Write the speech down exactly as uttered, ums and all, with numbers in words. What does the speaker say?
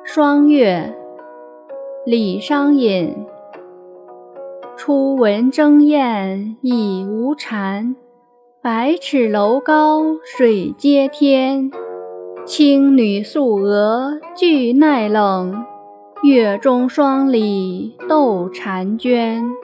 霜月，李商隐。初闻征燕已无蝉，百尺楼高水接天。青女素娥惧耐冷，月中霜里斗婵娟。